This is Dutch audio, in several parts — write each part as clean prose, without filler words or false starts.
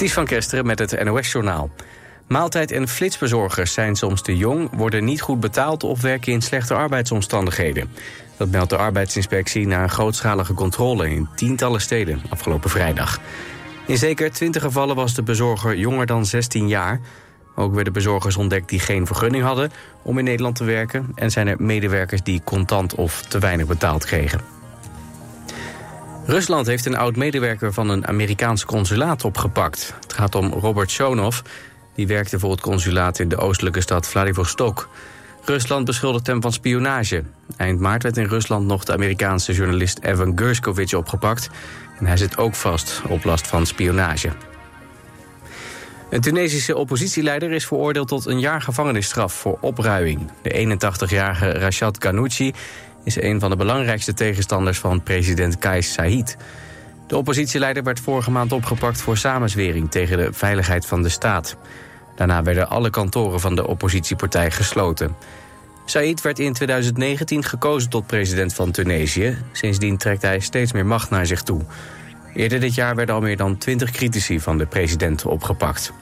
Ties van Kesteren met het NOS-journaal. Maaltijd- en flitsbezorgers zijn soms te jong, worden niet goed betaald of werken in slechte arbeidsomstandigheden. Dat meldt de arbeidsinspectie na een grootschalige controle in tientallen steden afgelopen vrijdag. In zeker 20 gevallen was de bezorger jonger dan 16 jaar. Ook werden bezorgers ontdekt die geen vergunning hadden om in Nederland te werken. En zijn er medewerkers die contant of te weinig betaald kregen. Rusland heeft een oud-medewerker van een Amerikaans consulaat opgepakt. Het gaat om Robert Shonov. Die werkte voor het consulaat in de oostelijke stad Vladivostok. Rusland beschuldigt hem van spionage. Eind maart werd in Rusland nog de Amerikaanse journalist Evan Gershkovich opgepakt. En hij zit ook vast op last van spionage. Een Tunesische oppositieleider is veroordeeld tot een jaar gevangenisstraf voor opruiing. De 81-jarige Rachad Ghannouchi is een van de belangrijkste tegenstanders van president Kais Saied. De oppositieleider werd vorige maand opgepakt voor samenzwering tegen de veiligheid van de staat. Daarna werden alle kantoren van de oppositiepartij gesloten. Saied werd in 2019 gekozen tot president van Tunesië. Sindsdien trekt hij steeds meer macht naar zich toe. Eerder dit jaar werden al meer dan 20 critici van de president opgepakt.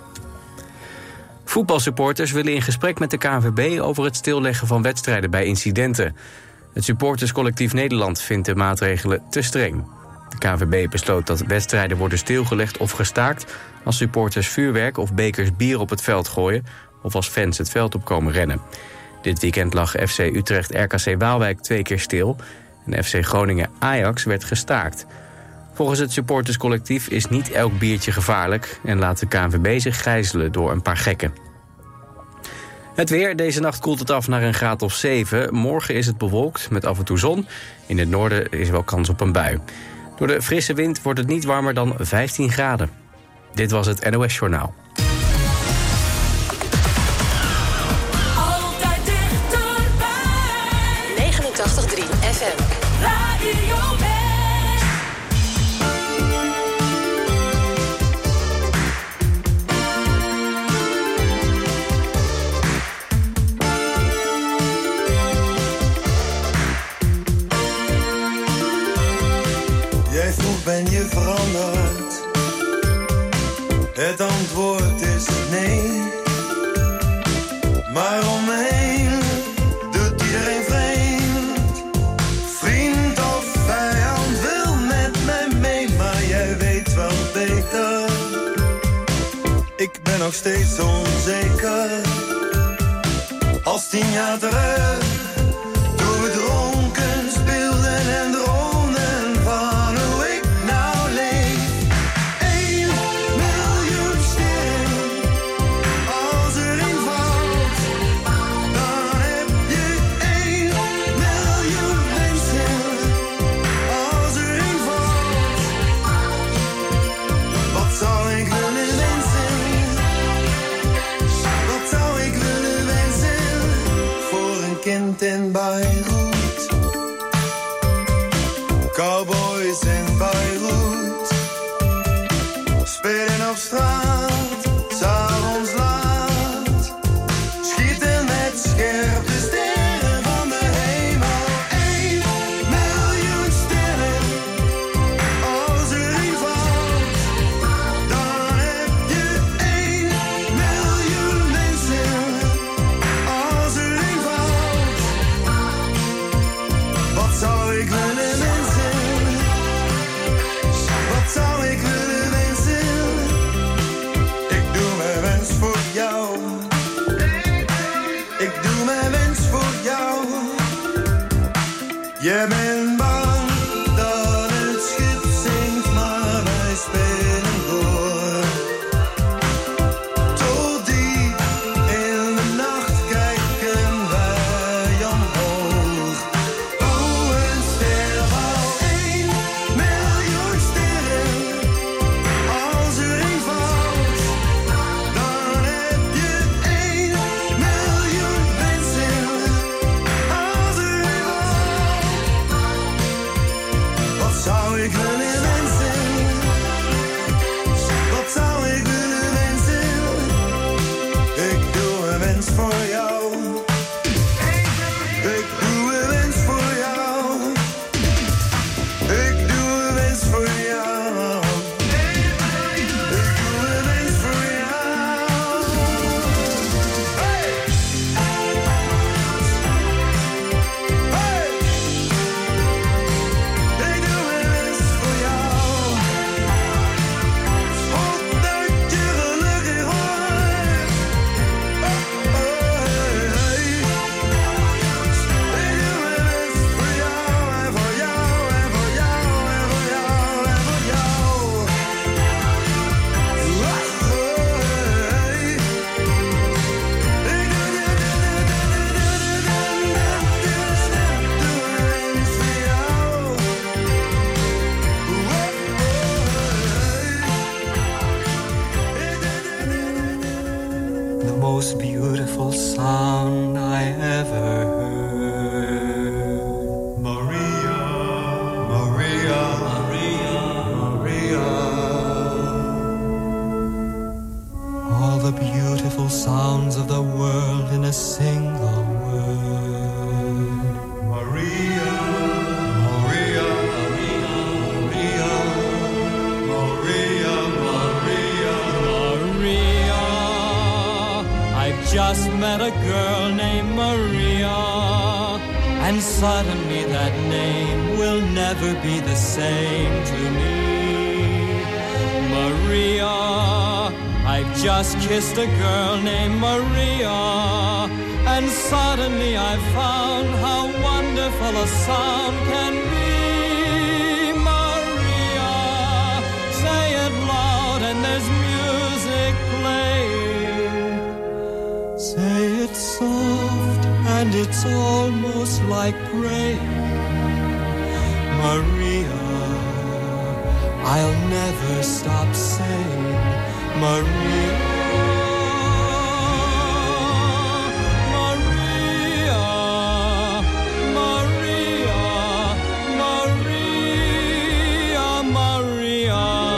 Voetbalsupporters willen in gesprek met de KNVB over het stilleggen van wedstrijden bij incidenten. Het supporterscollectief Nederland vindt de maatregelen te streng. De KNVB besloot dat wedstrijden worden stilgelegd of gestaakt als supporters vuurwerk of bekers bier op het veld gooien of als fans het veld op komen rennen. Dit weekend lag FC Utrecht RKC Waalwijk 2 keer stil en FC Groningen Ajax werd gestaakt. Volgens het supporterscollectief is niet elk biertje gevaarlijk en laat de KNVB zich gijzelen door een paar gekken. Het weer. Deze nacht koelt het af naar een graad of 7. Morgen is het bewolkt met af en toe zon. In het noorden is wel kans op een bui. Door de frisse wind wordt het niet warmer dan 15 graden. Dit was het NOS Journaal. Altijd dichterbij. 89.3 FM. Radio Ben je veranderd? Het antwoord is nee. Maar om me heen doet iedereen vreemd. Vriend of vijand wil met mij mee, maar jij weet wel beter. Ik ben nog steeds onzeker. Als 10 jaar terug, toen we dronken speelden en droomden. In Beirut, cowboys in Beirut, spelen op straat, 's avonds laat, schieten met scherpe sterren van de hemel. 1 miljoen sterren, als er een valt, dan heb je 1 miljoen mensen. Als er een valt, wat zou ik willen wensen? Wat zou ik willen wensen? the most beautiful sound I ever heard. Maria, Maria, Maria, Maria. All the beautiful sounds of the world in a single word. Maria, Maria, Maria, Maria, Maria, Maria. I've just met a girl named Maria, and suddenly that name will never be the same to me. Maria, I've just kissed a girl named Maria, and suddenly I found how wonderful a sound can be. Maria, say it loud and there's music playing. Say it soft and it's almost like praying. Maria, I'll never stop saying Maria, Maria, Maria, Maria, Maria,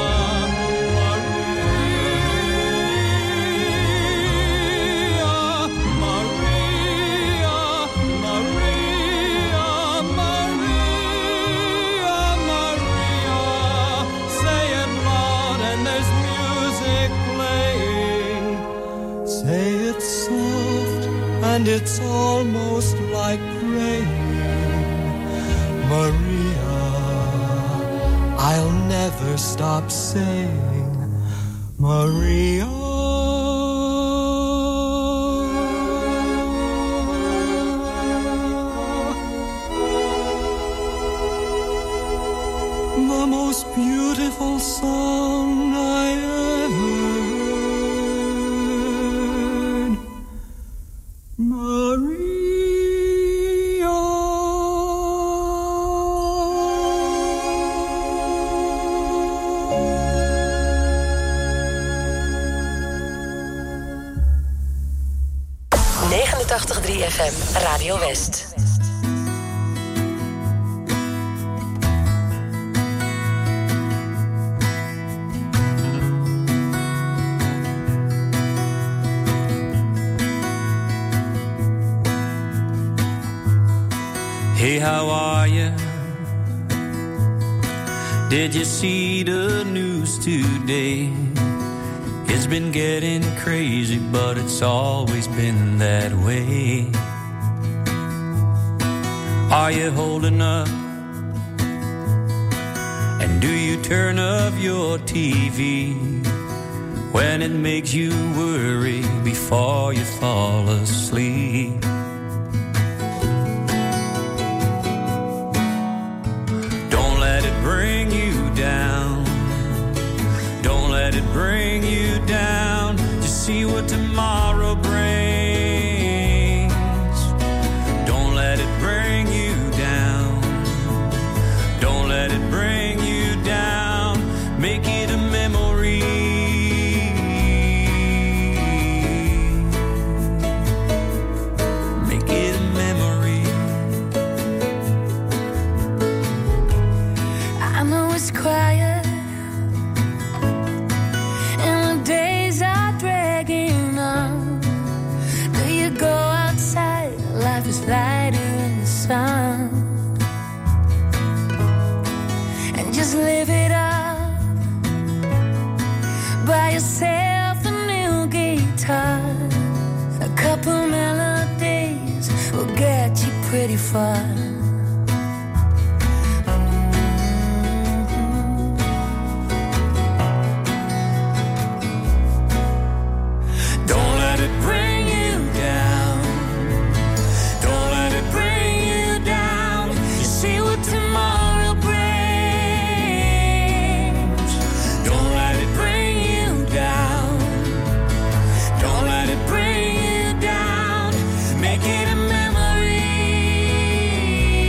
and it's almost like praying. Maria, I'll never stop saying Maria. The most beautiful song I ever heard. Maria. 89.3 FM, Radio West. Hey, how are you? Did you see the news today? It's been getting crazy, but it's always been that way. Are you holding up? And do you turn off your TV when it makes you worry before you fall asleep? Don't let it bring you down. Don't let it bring you down. Just see what tomorrow brings. Don't let it bring you down. Don't let it bring you down. Make it a memory. Make it a memory. I know it's quiet. Life is lighter in the sun, and just live it up. Buy yourself a new guitar. A couple melodies will get you pretty far. Don't let it bring you down. Tomorrow brings. Don't let it bring you down. Don't let it bring you down. Make it a memory.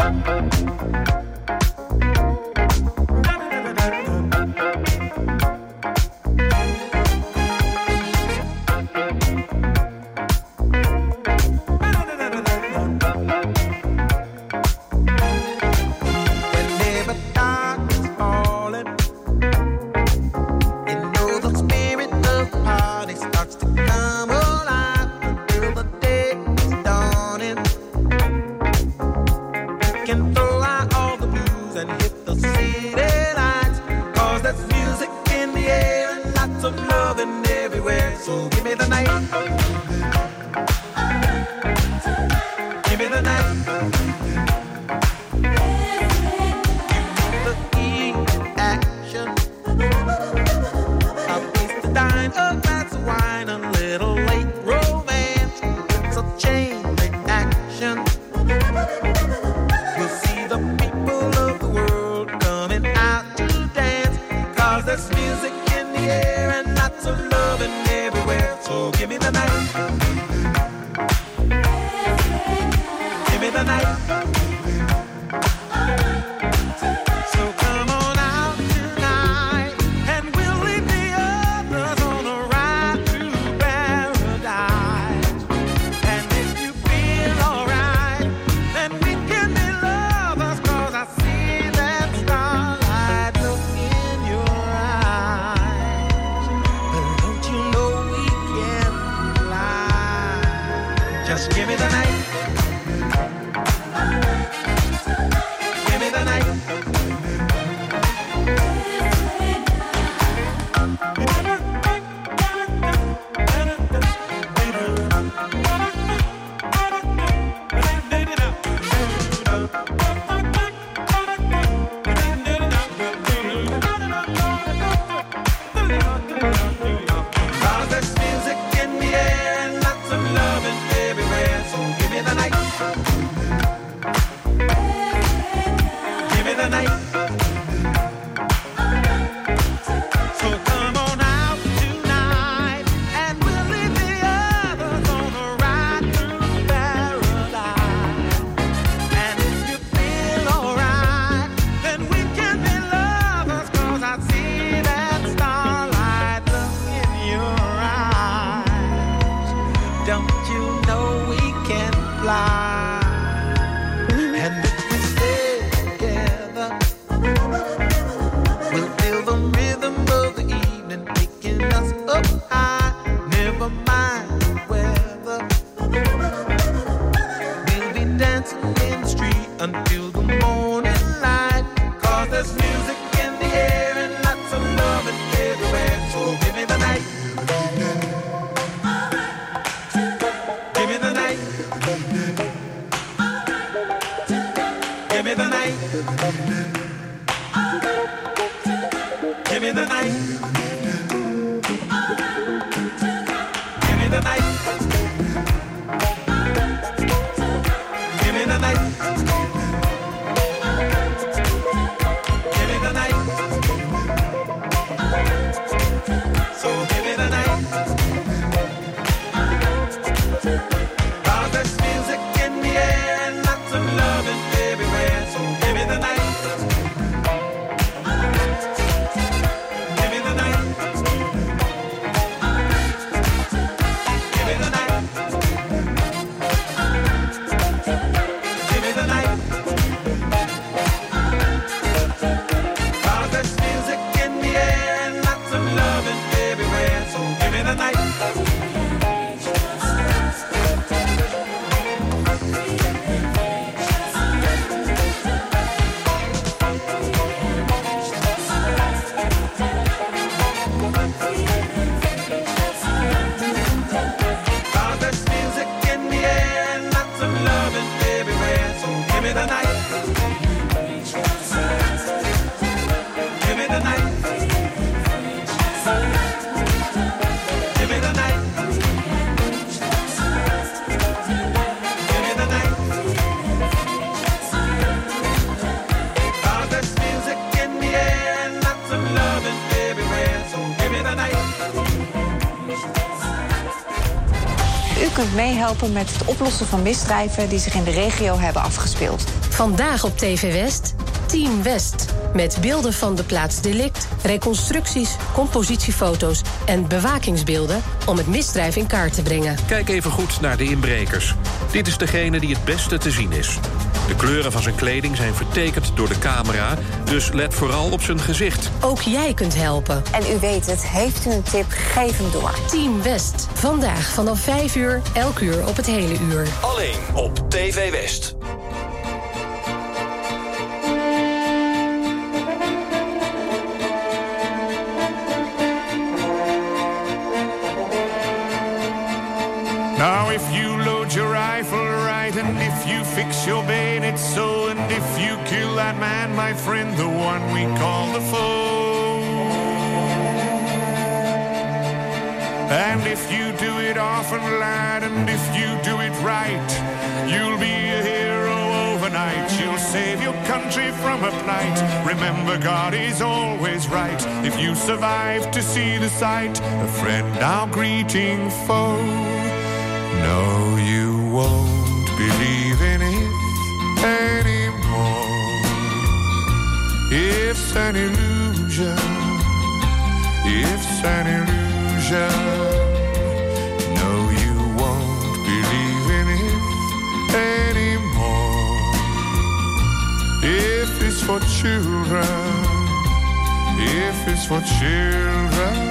U kunt meehelpen met het oplossen van misdrijven die zich in de regio hebben afgespeeld. Vandaag op TV West, Team West. Met beelden van de plaats delict, reconstructies, compositiefoto's en bewakingsbeelden om het misdrijf in kaart te brengen. Kijk even goed naar de inbrekers. Dit is degene die het beste te zien is. De kleuren van zijn kleding zijn vertekend door de camera, dus let vooral op zijn gezicht. Ook jij kunt helpen. En u weet het, heeft u een tip, geef hem door. Team West, vandaag vanaf 5 uur, elk uur op het hele uur. Alleen op TV West. Now if you load your rifle right, and if you fix your bayonet so, and if you kill that man, my friend, the one we call the foe, and if you do it often, lad, and if you do it right, you'll be a hero overnight. You'll save your country from a plight. Remember, God is always right. If you survive to see the sight, a friend now greeting foe. No, you won't believe in it anymore. It's an illusion. It's an illusion. No, you won't believe in it anymore. If it's for children, if it's for children.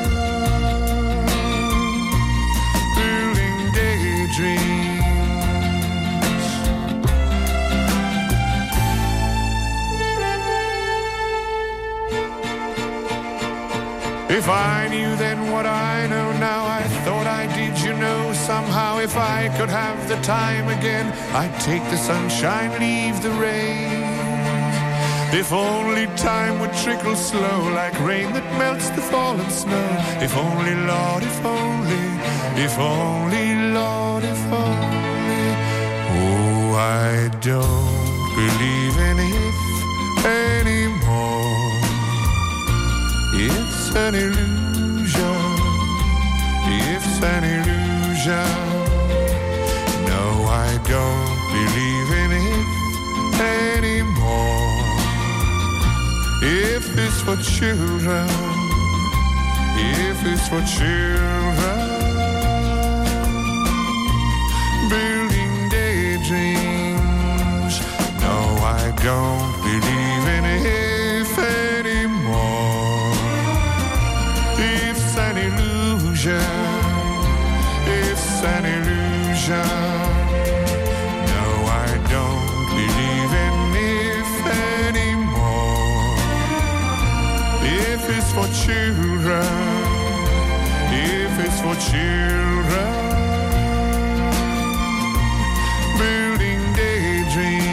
If I knew then what I know now, I thought I did, you know, somehow. If I could have the time again, I'd take the sunshine, leave the rain. If only time would trickle slow, like rain that melts the fallen snow. If only, Lord, if only, Lord, if only. Oh, I don't believe in it anymore. It's an illusion. It's an illusion. No, I don't believe in it anymore. If it's for children, if it's for children, building daydreams. No, I don't believe in it anymore. It's an illusion. It's an illusion. No, I don't believe in it anymore. If it's for children, if it's for children, building daydreams.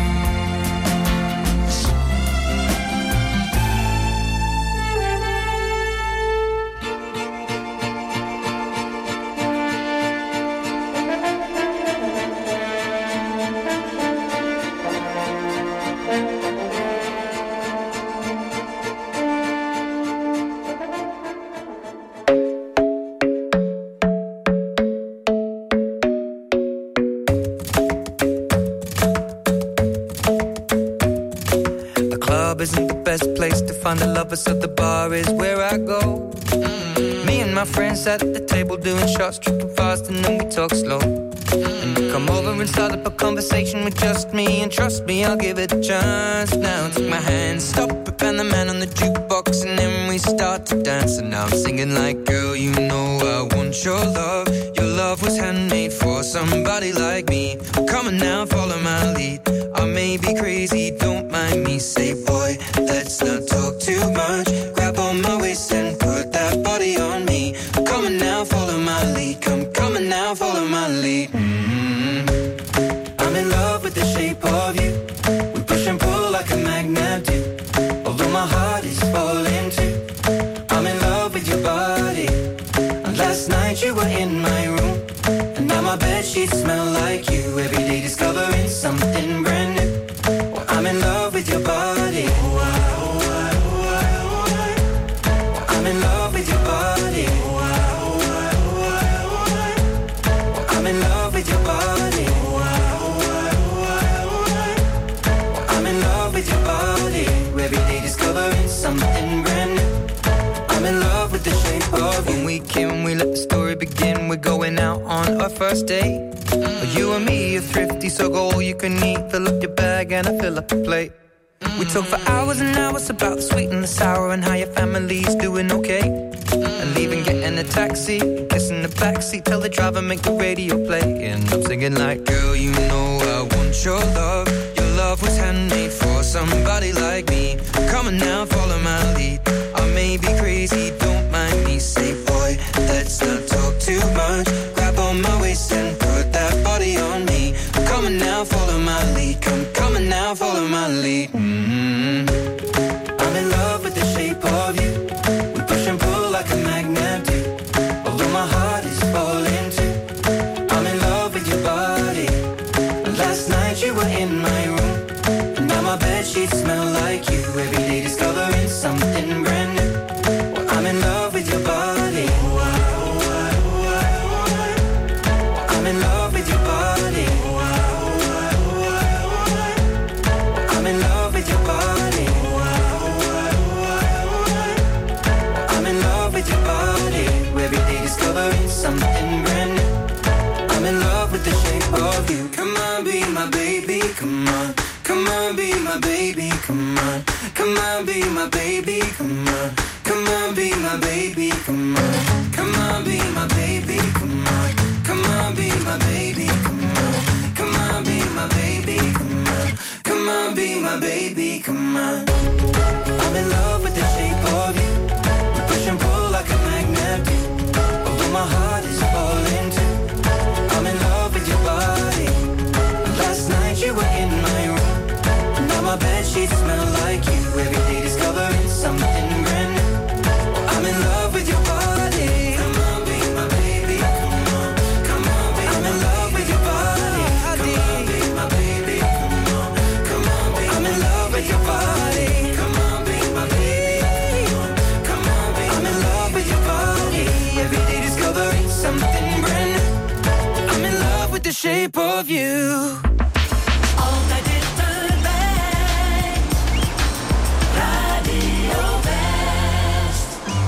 Isn't the best place to find the lovers, so the bar is where I go. Me and my friends at the table doing shots, tripping fast, and then we talk slow. And you come over and start up a conversation with just me, and trust me, I'll give it a chance. Now take my hand, stop it, and the man on the jukebox, and then we start to dance. And now I'm singing like, girl, you know I want your love. Your love was handmade for somebody like me. Come on now, follow my lead. I may be crazy, don't mind me. Say, boy, let's not talk too much. Grab on my waist and put that body on me. Come on now, follow my lead. Come on now, follow my lead. I'm in love with the shape of you. We push and pull like a magnet do. Although my heart is falling too. I'm in love with your body. And last night you were in my room. And now my bedsheets smell like you. Every day discovering something brand new. Well, I'm with your body. Every day discovering something brand new. I'm in love with the shape of you. When we can, we let the story begin. We're going out on our first date. You and me are thrifty, so go all you can eat. Fill up your bag and I fill up the plate. We talk for hours and hours about the sweet and the sour and how your family's doing okay. And leaving, getting a taxi, kissing the backseat, tell the driver make the radio play. And I'm singing like, girl, you know I want your love. Your love was handmade for somebody like me. Come on now, follow my lead. I may be crazy, don't mind me. Say, boy, let's not talk too much. Grab on my waist and put that body on me. Come on now, follow my lead. Come on now, follow my lead. I'm in love with the shape of you. We push and pull like a magnet do. Although my heart is falling too. I'm in love with your body. Last night you were in my room, and now my bedsheets smell like you. Every day discovering something brand new. Well, I'm in love with your body. I'm in love with your body. I'm in love with your body. I'm in love with your body. Every day discovering something brand new. I'm in love with the shape of you. Come on, be my baby, come on. Come on, be my baby, come on. Come on, be my baby, come on. Come on, be my baby, come on. Come on, be my baby, come on. Come on, be my baby, come on. Come on, be my baby, come on. Come on, be my baby, come on. I'm in love with the shape of you. We push and pull like a magnet do. Although my heart is falling too. I'm in love with your body. Last night you were in my room, and now my bedsheets smell like you. Every day discovering something brand new. I'm in love with your body. Come on, be my baby. Come on, come on, be I'm in love with your body. Come on, be my baby. Come on, come on, be I'm in love with your body. Come on, be my baby. Come on, be I'm in love with your body. Every day discovering something brand new. I'm in love with the shape of you. Altijd dichterbij. Radio West.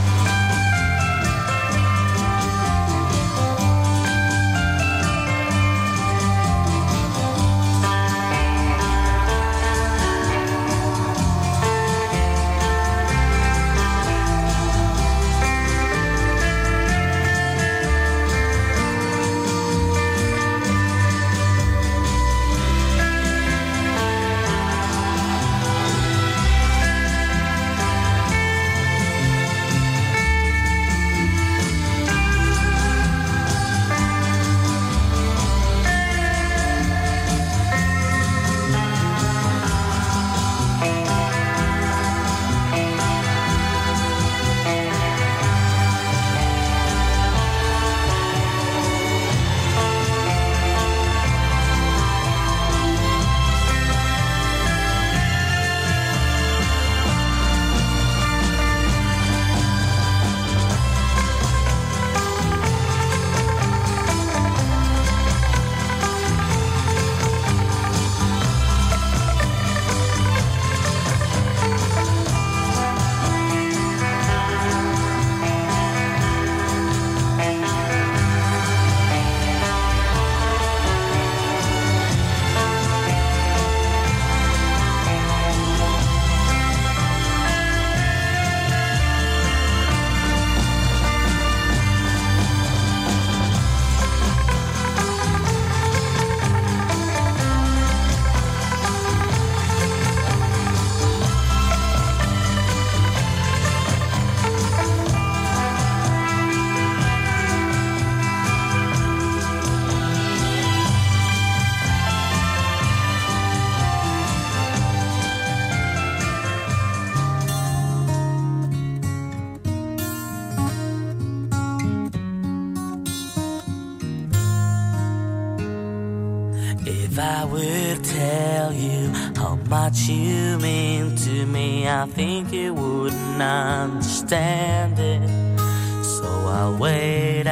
If I would tell you how much you mean to me, I think you wouldn't understand it. So I wait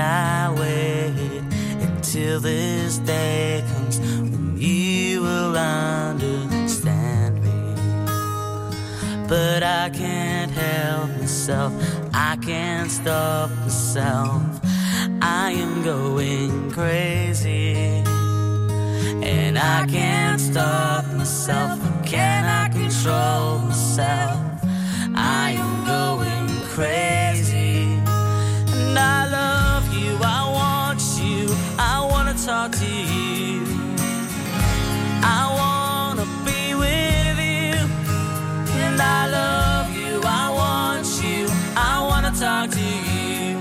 until this day comes when you will understand me. but I can't help myself. I can't stop myself. I am going crazy, and I can't stop myself. Can I control myself? I am going crazy, and I love you, I want you, I wanna talk to you, I wanna be with you, and I love you, I want you, I wanna talk to you,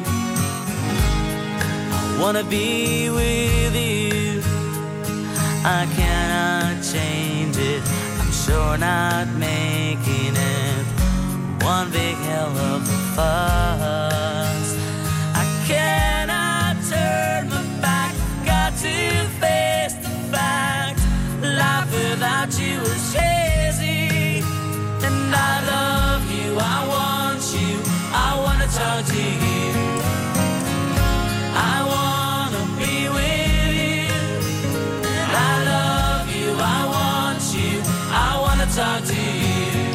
I wanna be with you. I cannot change it, I'm sure not making it one big hell of a fuss. I cannot turn my back, got to face the fact. Life without you is crazy, and I love you, I want you, I wanna talk to you, I wanna be with you, and I love you, I want you, I wanna talk to you,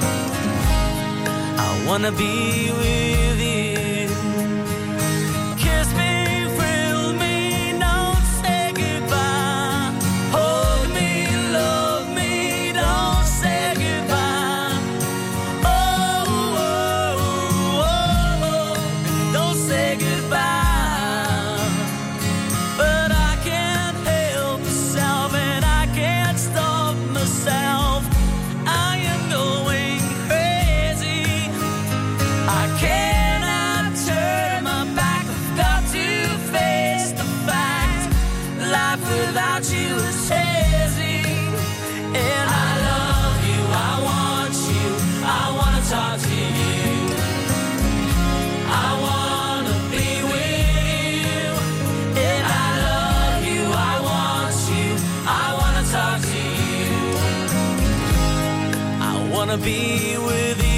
I wanna be with you. Kiss me, thrill me, don't say goodbye. Hold me, love me, don't say goodbye. Oh, oh, oh, oh, don't say goodbye. But I can't help myself, and I can't stop myself. I am going crazy. I cannot turn my back, I've got to face the fact. Life without you is hazy, and I love you, I want you, I wanna talk to you, I wanna be with you, and I love you, I want you, I wanna talk to you, I wanna be with you.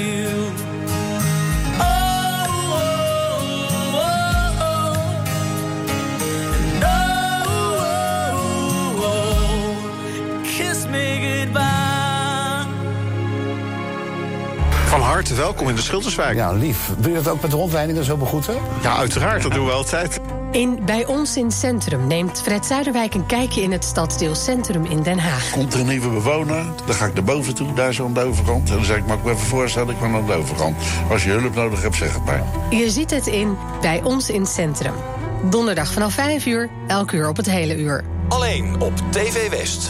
Van harte welkom in de Schilderswijk. Ja, lief. Doe je dat ook met rondleidingen zo begroeten? Ja, uiteraard. Dat doen we altijd. Bij ons in Centrum neemt Fred Zuiderwijk een kijkje in het stadsdeel Centrum in Den Haag. Komt er een nieuwe bewoner, dan ga ik naar boven toe, daar zo aan de overkant. En dan zeg ik, mag ik me even voorstellen, ik ben aan de overkant. Als je hulp nodig hebt, zeg het maar. Je ziet het in Bij ons in Centrum. Donderdag vanaf 5 uur, elk uur op het hele uur. Alleen op TV West.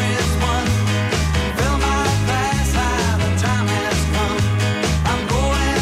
Time has come. I'm going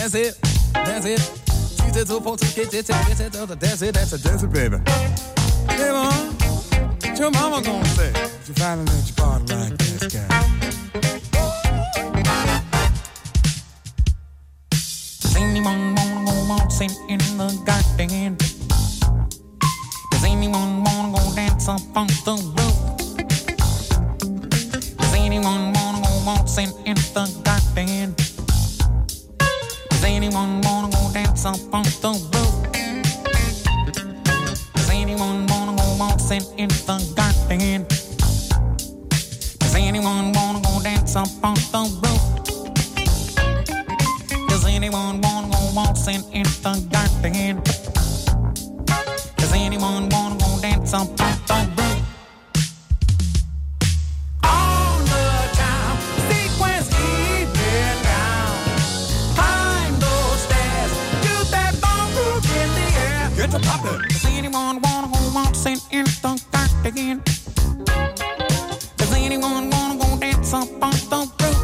That's it. That's it. 2, 3, 4, 2, get it. That's it. That's it, baby. Hey, Mom. What your mama gonna say? If you finally let your body like this guy. Does anyone wanna go waltzing in the garden? Does anyone wanna go dance up on the roof? Does anyone wanna go waltzing in the garden? Does anyone wanna go dance up on the roof? Does anyone wanna go waltzing in the garden? Does anyone wanna go dance up on the roof? Does anyone wanna go waltzing in the garden? Does anyone wanna go dance up on the roof? On the time, sequence even down. Climb those stairs, do that ball move in the air. Get to poppin'. Does anyone wanna go waltzing in the garden? Does anyone wanna go dance up on the roof?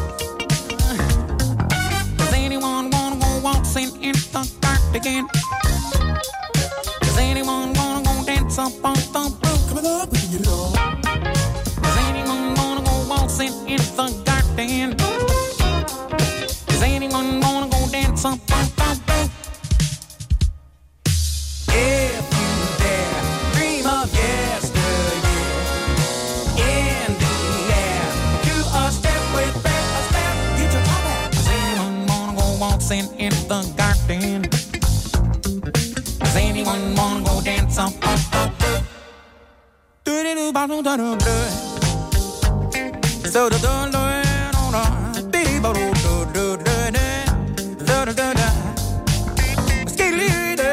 Does anyone wanna go waltzing in the garden? Does anyone wanna go dance up on the roof? Coming up, we can get it on. Does anyone wanna go waltzing in the garden? Does anyone wanna go dance up on the roof? If you dare, dream of yesteryear. In the air, do a step with back, a step, get your top back. Does anyone wanna go waltzing in the garden? Does anyone wanna go dance up on the roof? Do-do-do-ba-do-da-do-do. So-do-do-do-do-do-do-do-do-do-do-do-do. Skidly-dee.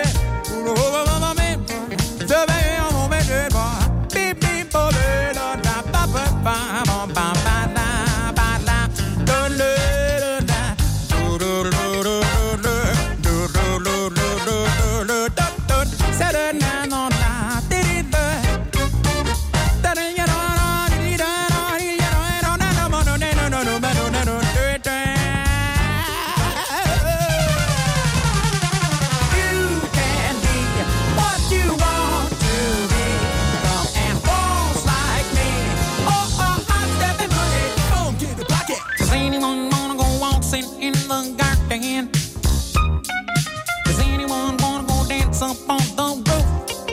Does anyone wanna go dance up on the roof?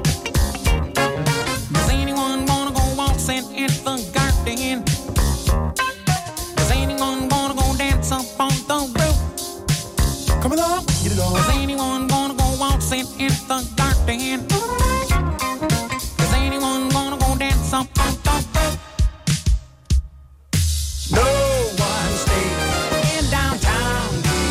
Does anyone wanna go waltzing in the garden? Does anyone wanna go dance up on the roof? Come along, get it on. Does anyone wanna go waltzing in the garden? Does anyone wanna go dance up on the roof? No one stays in downtown.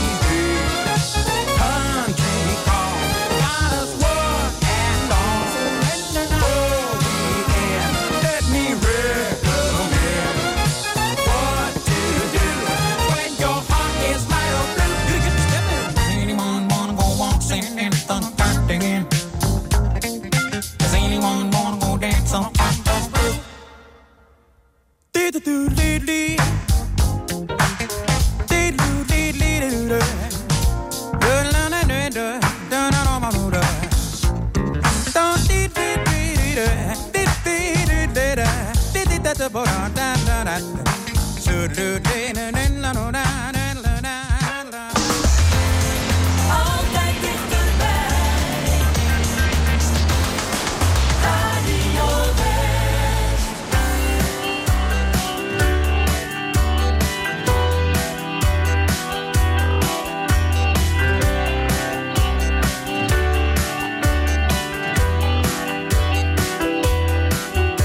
Does anyone wanna go dance on the roof?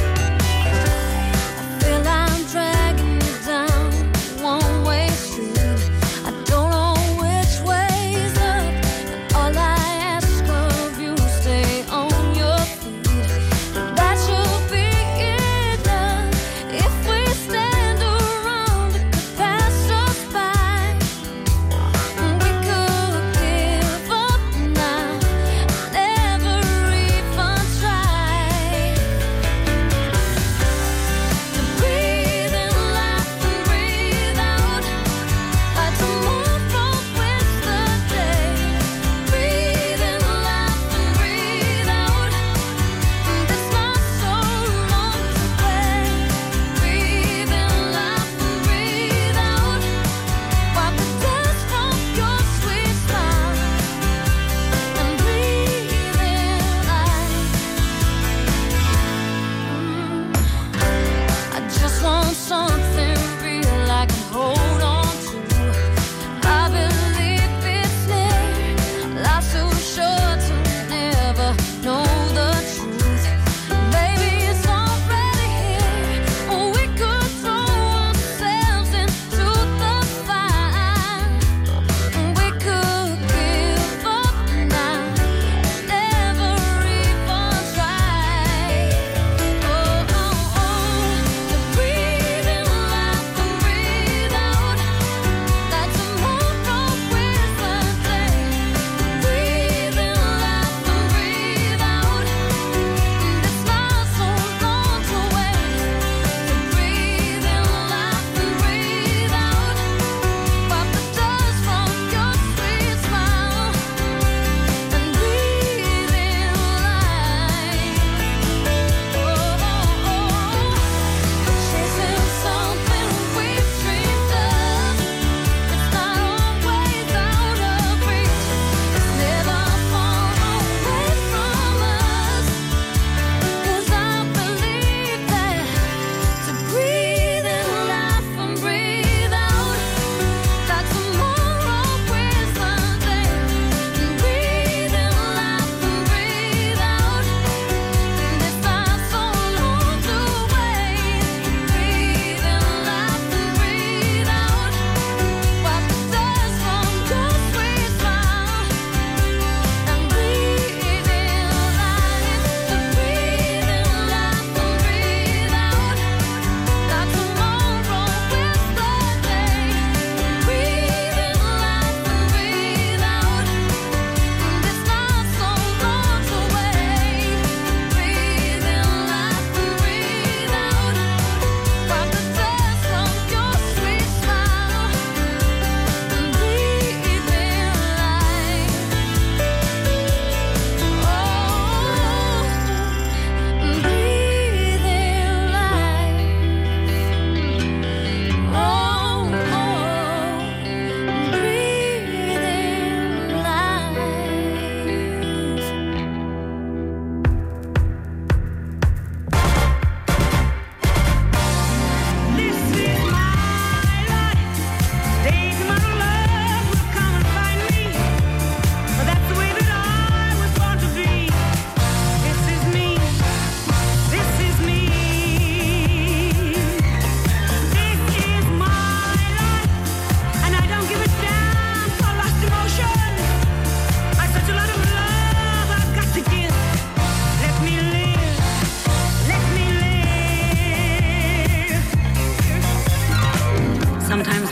Feel I'm dragging you down one-way street.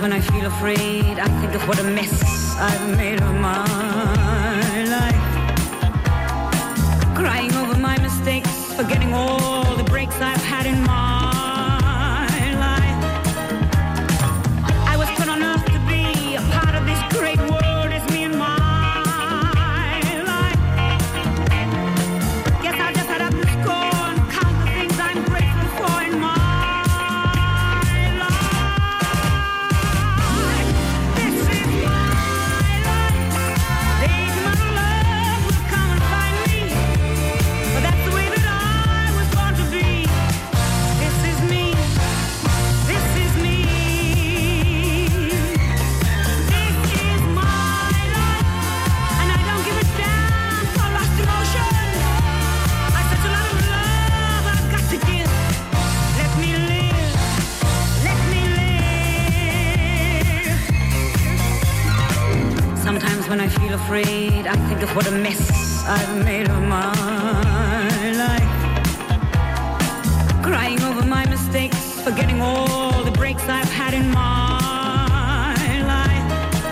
when I feel afraid, I think of what a mess I've made of my life. Crying over my mistakes, forgetting all the breaks I've had in my life. I was put on earth to be a part of this great world. It's me and my life. Guess I just had up the score and count the things I'm grateful for in my when I feel afraid, I think of what a mess I've made of my life. Crying over my mistakes, forgetting all the breaks I've had in my life.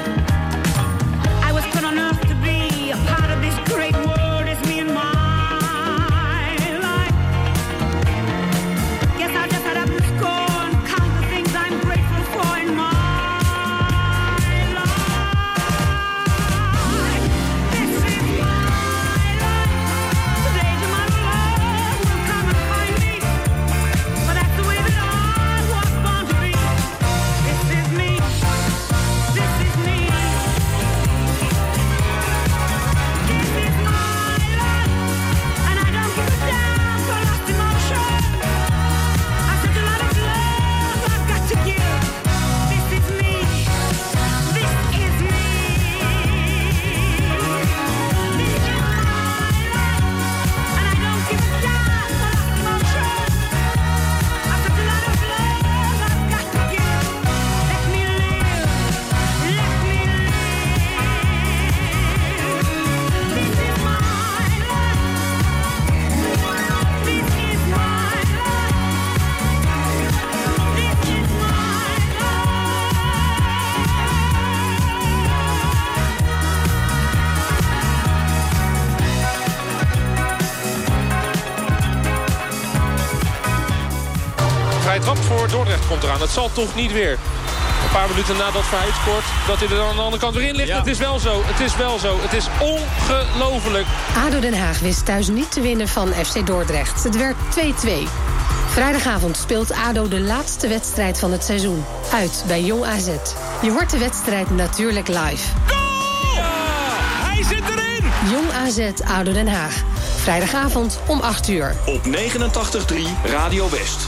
I was put on earth to be a part of this great world. It's me and my life. Guess I just had up the score and count the things I'm grateful for in my Trap voor Dordrecht komt eraan. Het zal toch niet weer. Een paar minuten nadat Verheid scoort, dat hij er aan de andere kant weer in ligt. Ja. Het is wel zo, het is wel zo. Het is ongelooflijk. ADO Den Haag wist thuis niet te winnen van FC Dordrecht. Het werd 2-2. Vrijdagavond speelt ADO de laatste wedstrijd van het seizoen. Uit bij Jong AZ. Je hoort de wedstrijd natuurlijk live. Goal! Ja, hij zit erin! Jong AZ ADO Den Haag. Vrijdagavond om 8:00. Op 89.3 Radio West.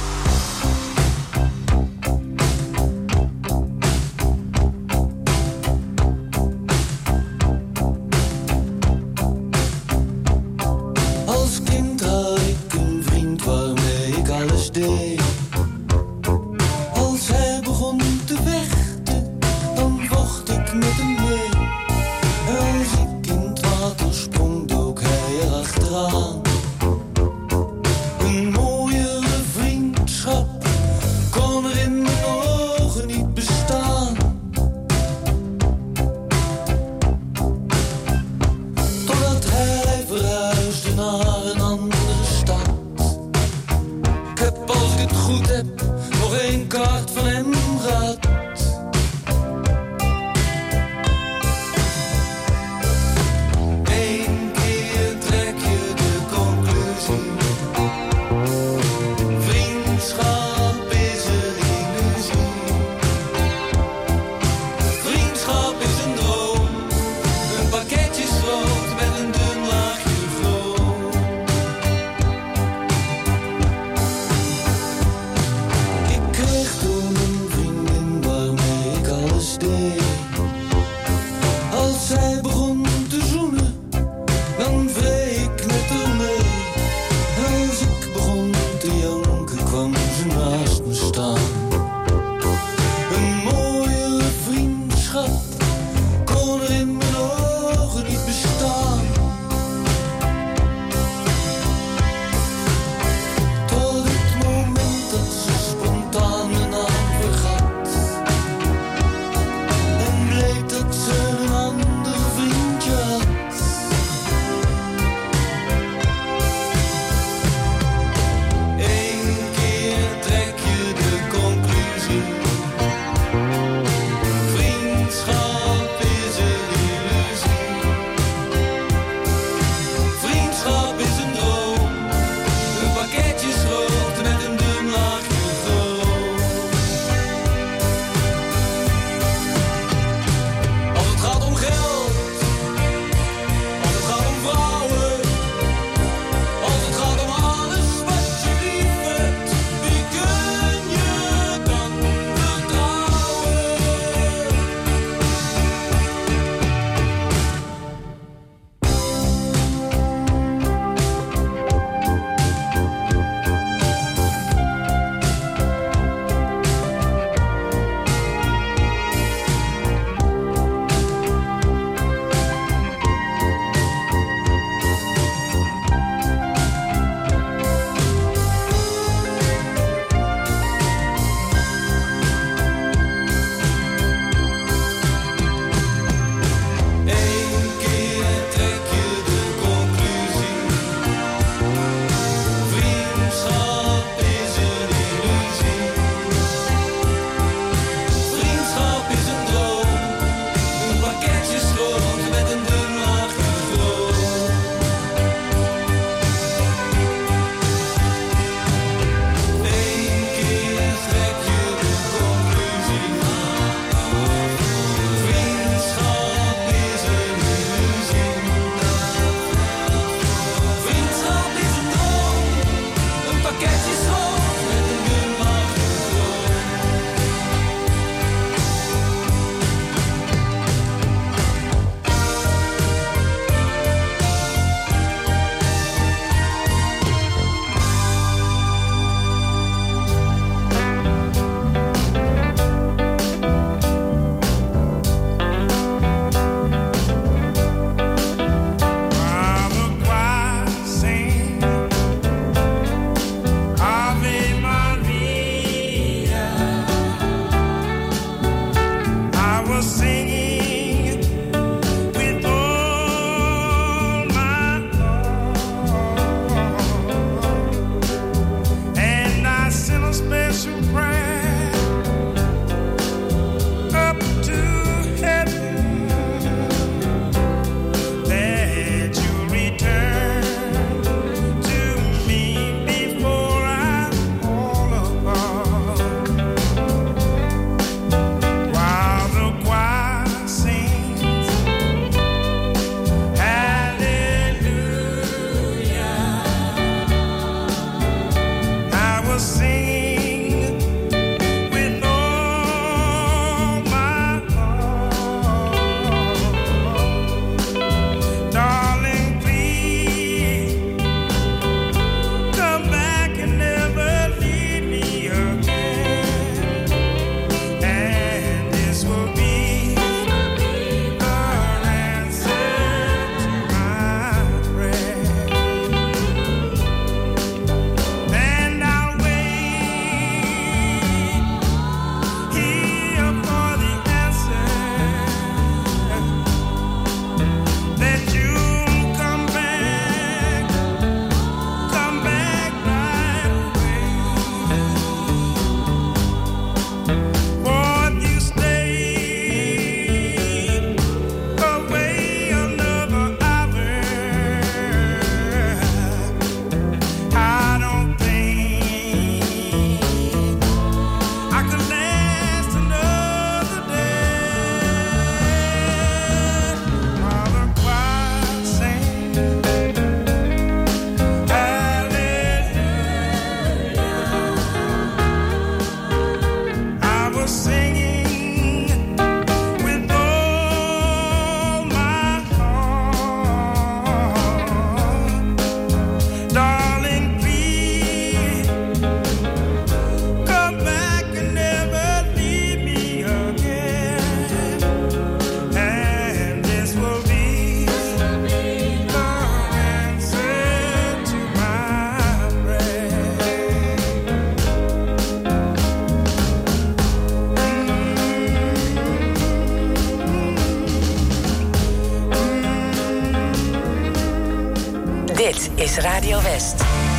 Radio West.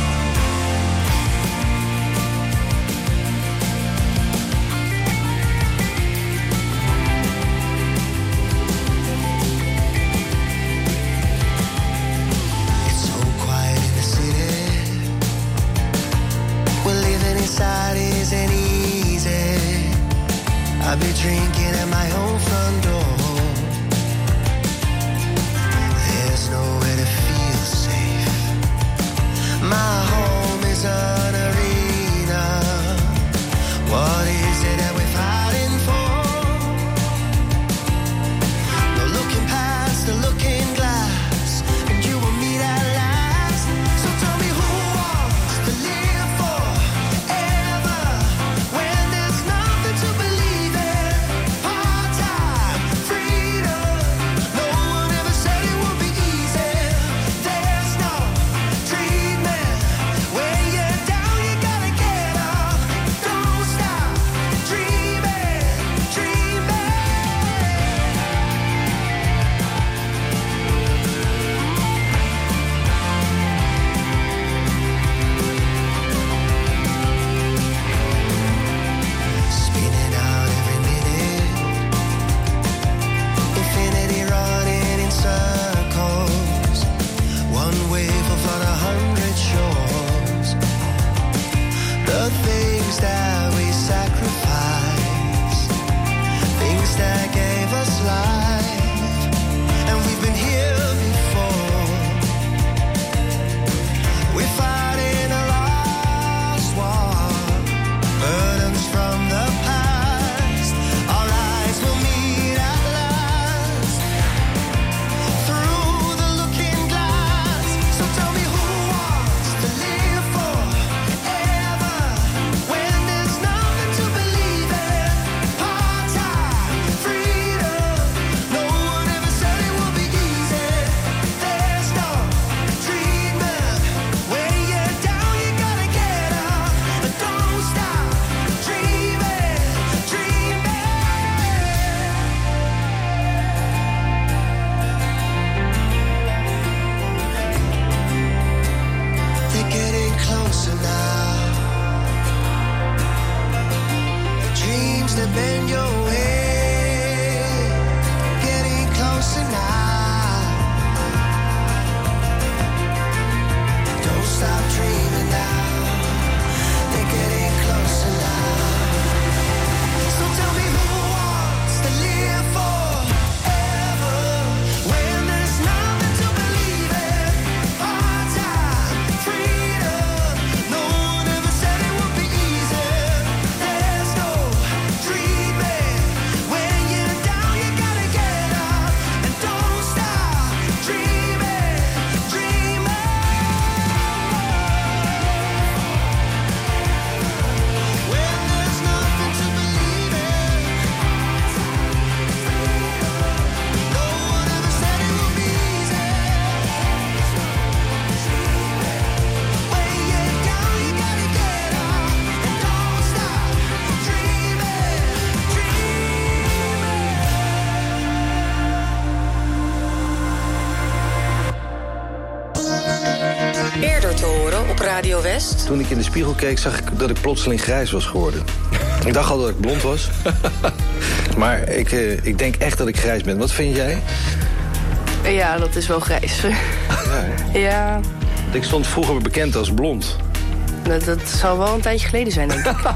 Isn't easy. I'll be drinking at my own front door. There's nowhere to feel safe. My home is an arena. What is it that we're fighting for? No looking past the looking glass, and you and me that last. So tell me who wants to live for? Radio West. Toen ik in de spiegel keek, zag ik dat ik plotseling grijs was geworden. Ik dacht al dat ik blond was. Maar ik denk echt dat ik grijs ben. Wat vind jij? Ja, dat is wel grijs. Ja. Ik stond vroeger bekend als blond. Dat zal wel een tijdje geleden zijn, denk ik.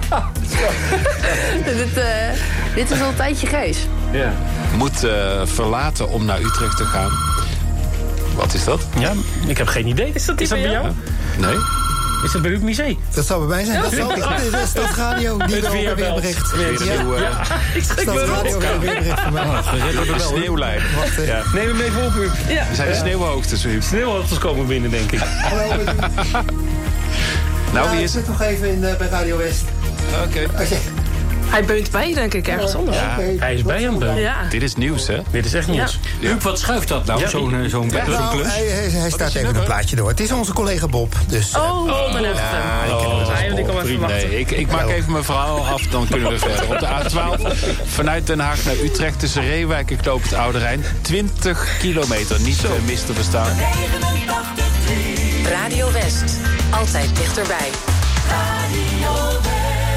Dit is al een tijdje grijs. Ja. Moet verlaten om naar Utrecht te gaan. Wat is dat? Ja, ik heb geen idee. Is dat bij jou? Nee. Is dat bij u museum? Dat zou bij mij zijn. Dat zou de Stadsradio die erover weer bericht. Stadsradio weer bericht van mij. De sneeuwlijn. Ja. Neem hem even op, u. Er zijn de sneeuwhoogtes, u. Sneeuwhoogtes komen binnen, denk ik. Hallo, nou, wie is het? Ik zit nog even bij Radio West. Oké. Hij beunt bij, denk ik, ergens anders. Ja, hij is bij hem. Ja. Dit is nieuws, hè? Dit is echt nieuws. Ja. Huub, wat schuift dat nou, zo'n klus? Hij staat even een plaatje door. Het is onze collega Bob. Dus, dan heb ik hem. Ik al even wachten. Nee, ik maak even mijn verhaal af, dan kunnen we verder. Op de A12 vanuit Den Haag naar Utrecht tussen Reewijk en Knoop het Oude Rijn. 20 kilometer, niet mis te verstaan. Radio West. Altijd dichterbij. Radio West.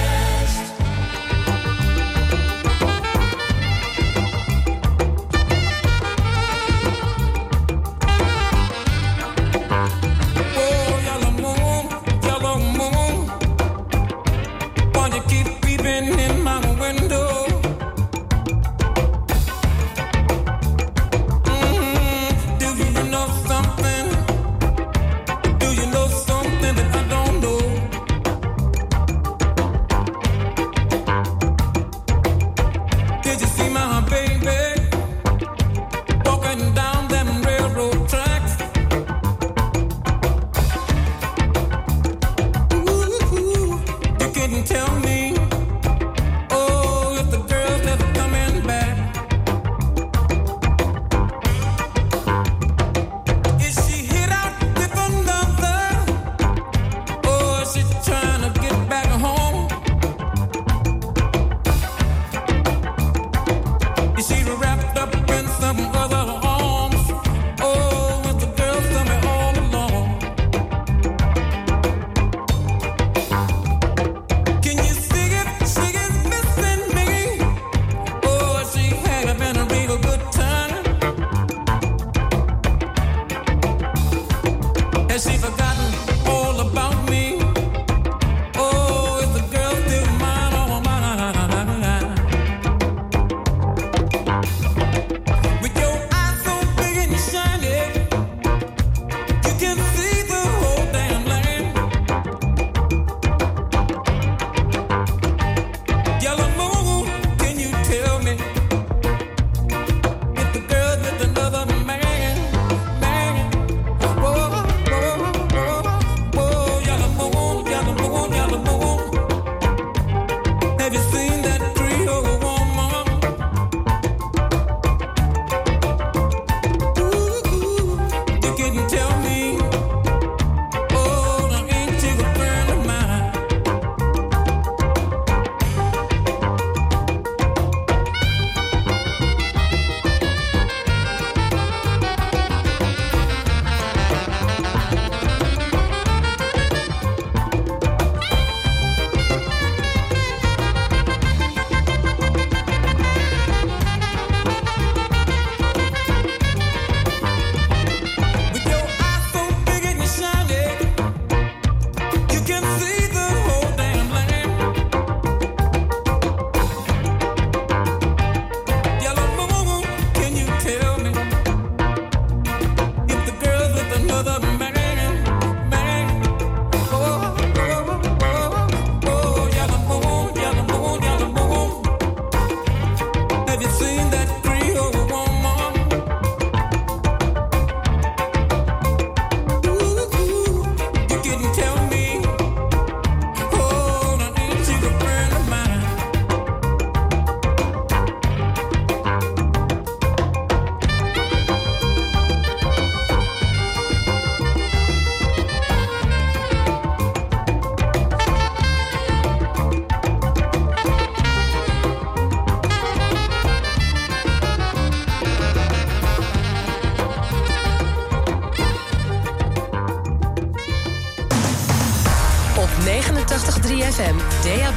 FM, DAB+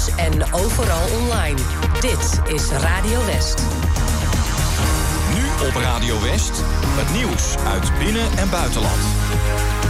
en overal online. Dit is Radio West. Nu op Radio West, het nieuws uit binnen- en buitenland.